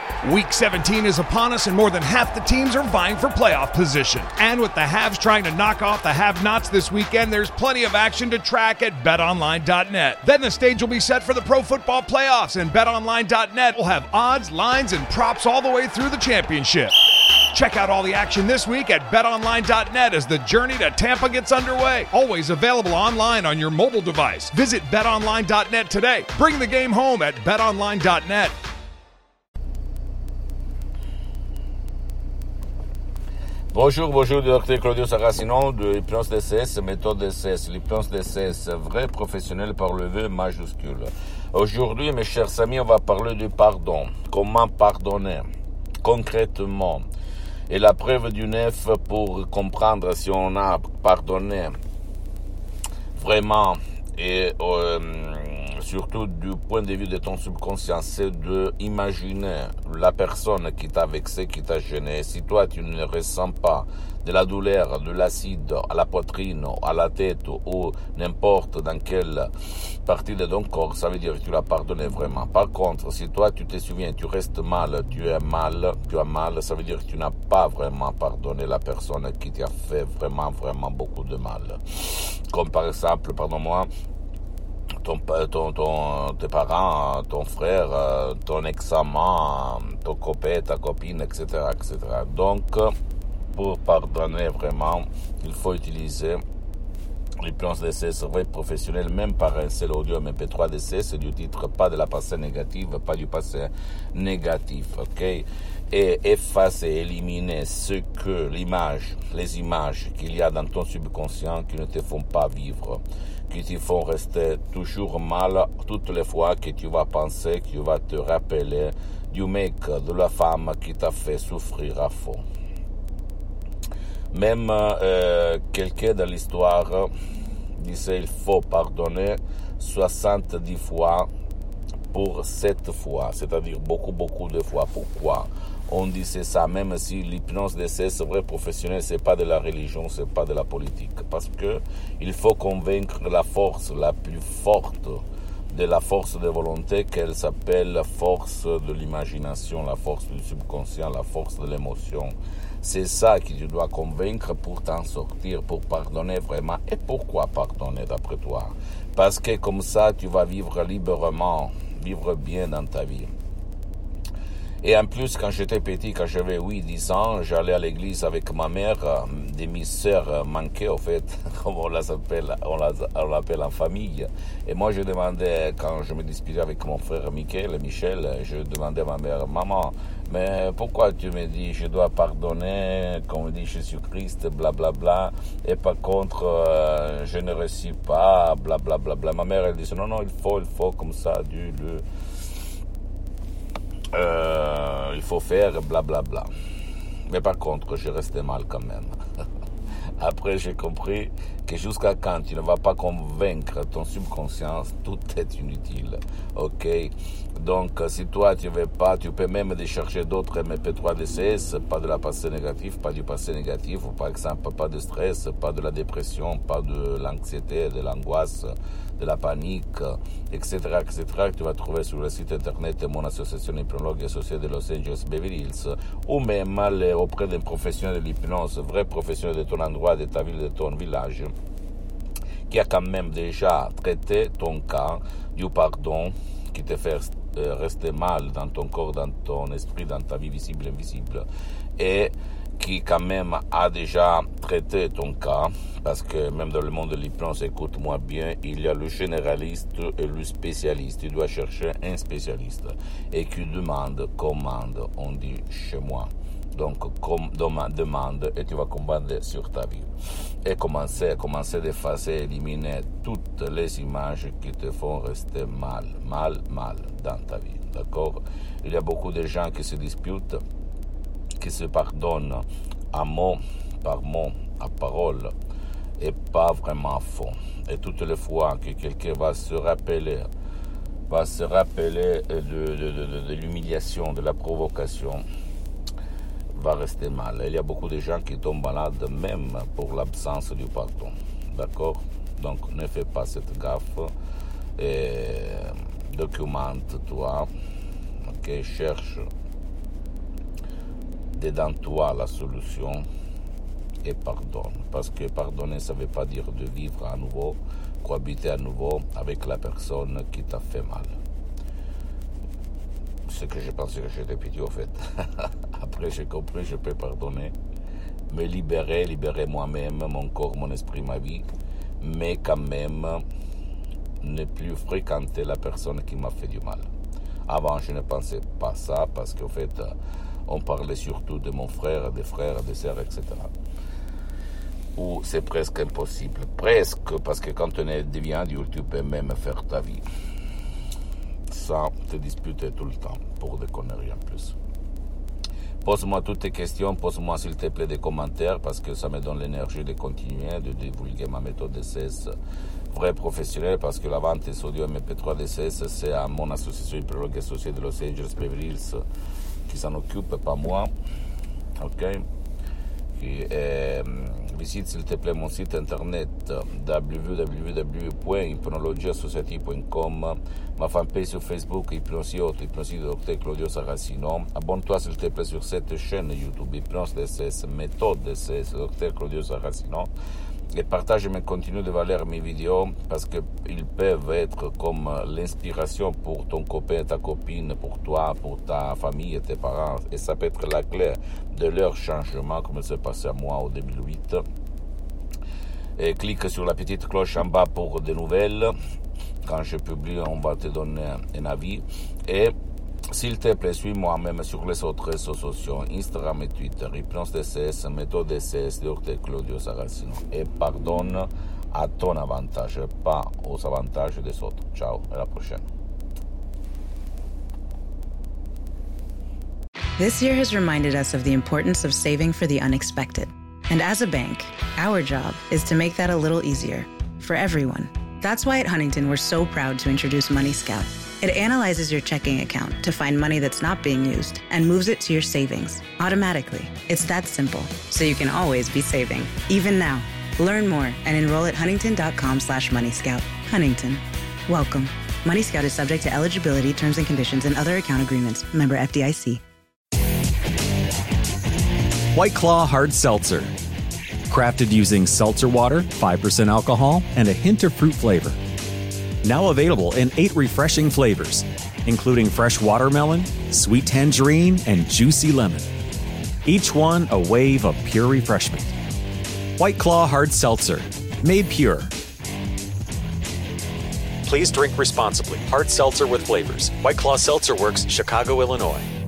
Week 17 is upon us and more than half the teams are vying for playoff position. And with the haves trying to knock off the have-nots this weekend, there's plenty of action to track at betonline.net. Then the stage will be set for the pro football playoffs, and betonline.net will have odds, lines, and props all the way through the championship. Check out all the action this week at betonline.net as the journey to Tampa gets underway. Always available online on your mobile device. Visit betonline.net today. Bring the game home at betonline.net. Bonjour, docteur Claudio Saracino de Hypnose DCS, méthode DCS. L'hypnose DCS, vrai professionnel par le V majuscule. Aujourd'hui, mes chers amis, on va parler du pardon. Comment pardonner concrètement? Et la preuve du neuf pour comprendre si on a pardonné vraiment et surtout du point de vue de ton subconscient, c'est de imaginer la personne qui t'a vexé, qui t'a gêné. Si toi tu ne ressens pas de la douleur, de l'acide à la poitrine, à la tête ou n'importe dans quelle partie de ton corps, ça veut dire que tu l'as pardonné vraiment. Par contre, si toi tu te souviens, tu restes mal, tu as mal, ça veut dire que tu n'as pas vraiment pardonné la personne qui t'a fait vraiment beaucoup de mal. Comme par exemple, pardonne-moi, tes parents, ton frère, ton ex-amant, ton copain, ta copine, etc., etc. Donc, pour pardonner vraiment, il faut utiliser l'hypnose DCS vrai professionnel, même par un seul audio MP3 DCS du titre, pas de la passé négative, pas du passé négatif, ok? Et effacer, éliminer les images qu'il y a dans ton subconscient qui ne te font pas vivre, qui te font rester toujours mal toutes les fois que tu vas penser, que tu vas te rappeler du mec, de la femme qui t'a fait souffrir à fond. Même quelqu'un dans l'histoire disait il faut pardonner 70 fois pour 7 fois, c'est-à-dire beaucoup de fois. Pourquoi on disait ça, même si l'hypnose DCS vrai professionnel, c'est pas de la religion, c'est pas de la politique, parce que il faut convaincre la force la plus forte de la force de volonté, qu'elle s'appelle la force de l'imagination, la force du subconscient, la force de l'émotion. C'est ça que tu dois convaincre pour t'en sortir, pour pardonner vraiment. Et pourquoi pardonner d'après toi? Parce que comme ça, tu vas vivre librement, vivre bien dans ta vie. Et en plus, quand j'étais petit, quand j'avais 8-10 ans, j'allais à l'église avec ma mère, des mes sœurs manquées, en fait, comme on l'appelle en famille. Et moi, je demandais, quand je me disputais avec mon frère Michel, je demandais à ma mère, maman, mais pourquoi tu me dis, je dois pardonner, comme dit Jésus-Christ, blablabla, et par contre, je ne réussis pas, blablabla. Ma mère, elle disait, non, il faut, comme ça, il faut faire blablabla. Mais par contre, je restais mal quand même. Après, j'ai compris que jusqu'à quand tu ne vas pas convaincre ton subconscient, tout est inutile. Ok? Donc, si toi, tu ne veux pas, tu peux même décharger d'autres MP3 DCS, pas de la passé négative, pas du passé négatif, ou par exemple, pas de stress, pas de la dépression, pas de l'anxiété, de l'angoisse, de la panique, etc., etc., que tu vas trouver sur le site internet de mon association hypnologue associée de Los Angeles Beverly Hills, ou même aller auprès d'un professionnel de l'hypnose, vrai professionnel de ton endroit, de ta ville, de ton village, qui a quand même déjà traité ton cas du pardon, qui te fait rester mal dans ton corps, dans ton esprit, dans ta vie visible et invisible, et qui quand même a déjà traité ton cas, parce que même dans le monde de l'hypnose, écoute-moi bien, il y a le généraliste et le spécialiste. Tu dois chercher un spécialiste et qui commande, on dit chez moi. Donc, demande et tu vas commander sur ta vie. Et commencer d'effacer, éliminer toutes les images qui te font rester mal dans ta vie. D'accord? Il y a beaucoup de gens qui se disputent, qui se pardonnent à mot, par mot, à parole, et pas vraiment à fond. Et toutes les fois que quelqu'un va se rappeler de l'humiliation, de la provocation, va rester mal. Il y a beaucoup de gens qui tombent malades même pour l'absence du pardon. D'accord? Donc ne fais pas cette gaffe et documente-toi. Ok? Cherche dedans toi la solution et pardonne. Parce que pardonner, ça ne veut pas dire de vivre à nouveau, cohabiter à nouveau avec la personne qui t'a fait mal. Ce que je pensais que j'étais petit, au fait. Après, j'ai compris, je peux pardonner, me libérer moi-même, mon corps, mon esprit, ma vie, mais quand même ne plus fréquenter la personne qui m'a fait du mal. Avant, je ne pensais pas ça, parce qu'en fait, on parlait surtout de mon frère, des frères, des sœurs, etc. Ou c'est presque impossible. Presque, parce que quand on devient adulte, tu peux même faire ta vie. Sans te disputer tout le temps, pour des conneries en plus. Pose-moi toutes tes questions, pose-moi s'il te plaît des commentaires, parce que ça me donne l'énergie de continuer, de divulguer ma méthode DCS vrai professionnel, parce que la vente des audio MP3 DCS, c'est à mon association hypnologue associée de Los Angeles Beverly Hills qui s'en occupe, pas moi. Ok? Visite s'il te plaît mon site internet www.hypnologieassociative.com, ma fanpage sur Facebook Hypnosie Dr Claudio Saracino. Abonne-toi s'il te plaît sur cette chaîne YouTube Hypnose DCS, méthode DCS Dr Claudio Saracino, et partage mes contenus de valeur, mes vidéos, parce qu'ils peuvent être comme l'inspiration pour ton copain, ta copine, pour toi, pour ta famille et tes parents, et ça peut être la clé de leur changement, comme c'est passé à moi en 2008. Et clique sur la petite cloche en bas pour des nouvelles. Quand je publie, on va te donner un avis. Et s'il te plaît, suis-moi même sur les autres réseaux sociaux, Instagram et Twitter, Hypnose DCS, méthode DCS, Dr Claudio Saracino. Et pardonne à ton avantage, pas aux avantages des autres. Ciao, à la prochaine. This year has reminded us of the importance of saving for the unexpected. And as a bank, our job is to make that a little easier for everyone. That's why at Huntington, we're so proud to introduce Money Scout. It analyzes your checking account to find money that's not being used and moves it to your savings automatically. It's that simple, so you can always be saving, even now. Learn more and enroll at huntington.com/moneyscout. Huntington. Welcome. Money Scout is subject to eligibility, terms and conditions, and other account agreements. Member FDIC. White Claw Hard Seltzer. Crafted using seltzer water, 5% alcohol, and a hint of fruit flavor. Now available in 8 refreshing flavors, including fresh watermelon, sweet tangerine, and juicy lemon. Each one a wave of pure refreshment. White Claw Hard Seltzer, made pure. Please drink responsibly. Hard seltzer with flavors. White Claw Seltzer Works, Chicago, Illinois.